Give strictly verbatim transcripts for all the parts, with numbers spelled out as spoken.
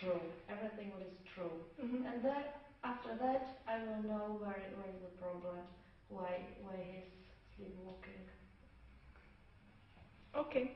true. Everything what is true. Mm-hmm. And then after that, I will know where where is the problem, why why he's sleepwalking. Okay.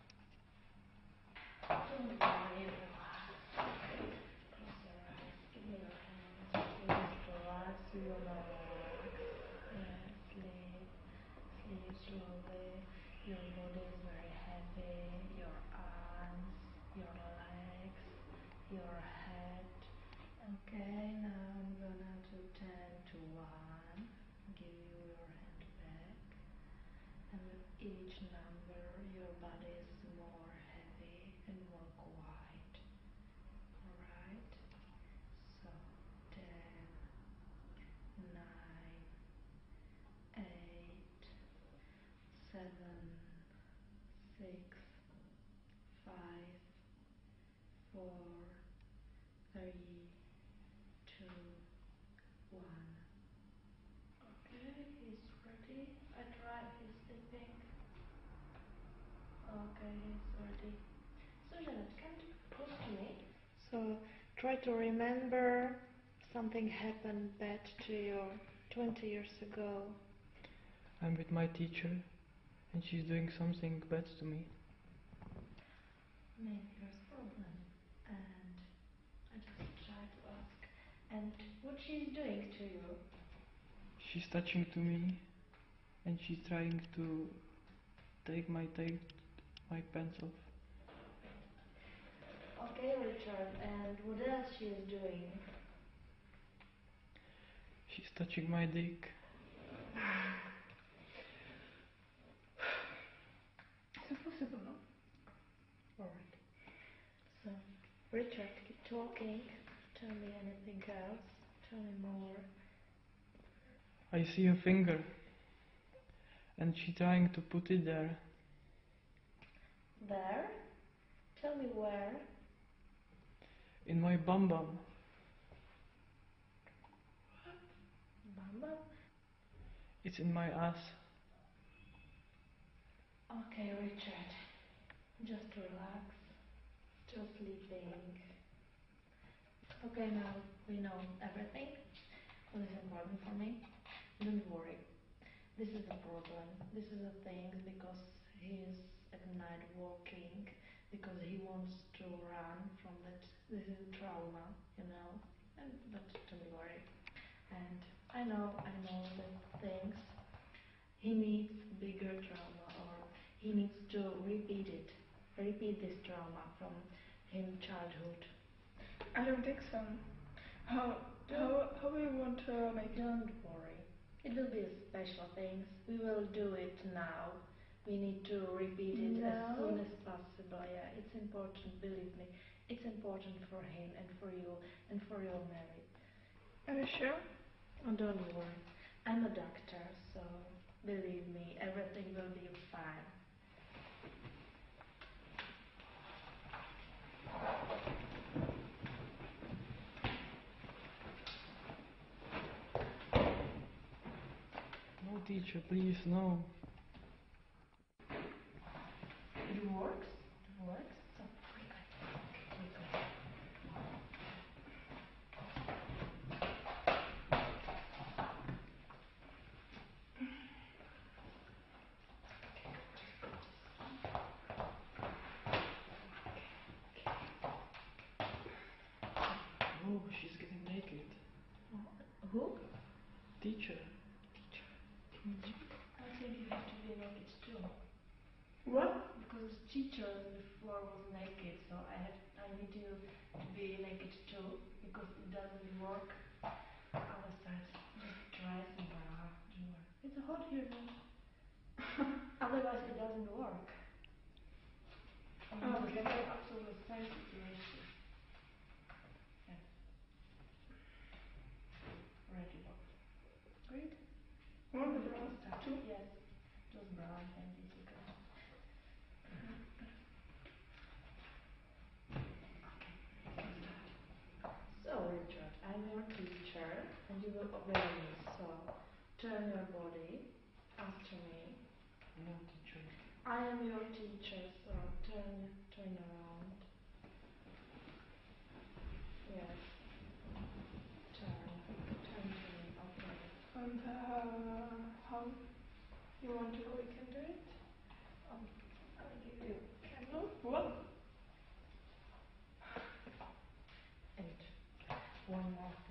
Don't worry, relax. Close your eyes. Give me your hands. Please relax. You will relax. Yes, sleep. Sleep slowly. Your body is very heavy. Your arms, your legs, your head. Okay, now I'm gonna do ten to one. Give you your hand back. And with each number, your body is more heavy and more quiet. Alright? So, ten, nine, eight, seven, six, five, four, three, two, one. Okay, he's ready. I try, he's sleeping. Okay, he's ready. So Janet, can you close to me? So try to remember something happened bad to you twenty years ago. I'm with my teacher and she's doing something bad to me. Maybe there's a problem. And I just try to ask. And what she's doing to you? She's touching to me and she's trying to take my take my pants off. Okay, Richard, and what else she is doing? She's touching my dick. It's possible, no? Alright. So, Richard, keep talking. Tell me anything else. Tell me more. I see a finger and she's trying to put it there. There? Tell me where. In my bum bum. Bum bum? It's in my ass. Okay, Richard. Just relax. Still sleeping. Okay, now we know everything. What is important for me? Don't worry. This is a problem. This is a thing because he is at night walking because he wants to run from that. This is trauma, you know. And but don't worry. And I know, I know that things. He needs bigger trauma, or he needs to repeat it, repeat this trauma from his childhood. I don't think so. How how how will you want to make it? Don't worry. It will be a special things. We will do it now. We need to repeat it Now? as soon as possible. Yeah, it's important, believe me. It's important for him and for you and for your marriage. Are you sure? Oh, don't worry. I'm a doctor, so believe me, everything will be fine. No, teacher, please, no. It works? It works? So, quickly. Quickly. Oh, she's getting naked. Who? Teacher. I think you have to be naked too. What? Because teacher before was naked, so I have I need you to be naked too because it doesn't work. Other side, just dress and bra. Don't worry. It's hot here now. Otherwise it doesn't work. And Oh, it's okay. the absolute same situation. Yes. Ready, box. Great. One of the bras, Start. two. Yes. Just bra and panties, okay. So, Richard, I'm your teacher and you will obey me. So, turn your body after me. No, teacher. I am your teacher, so turn, turn around. Uh, how you want to we can do it? Um, I'll give you candle. Whoa. And one more